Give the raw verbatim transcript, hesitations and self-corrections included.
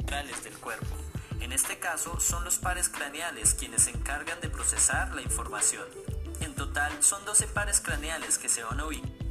centrales del cuerpo. En este caso, son los pares craneales quienes se encargan de procesar la información. En total, son doce pares craneales que se van a ubicar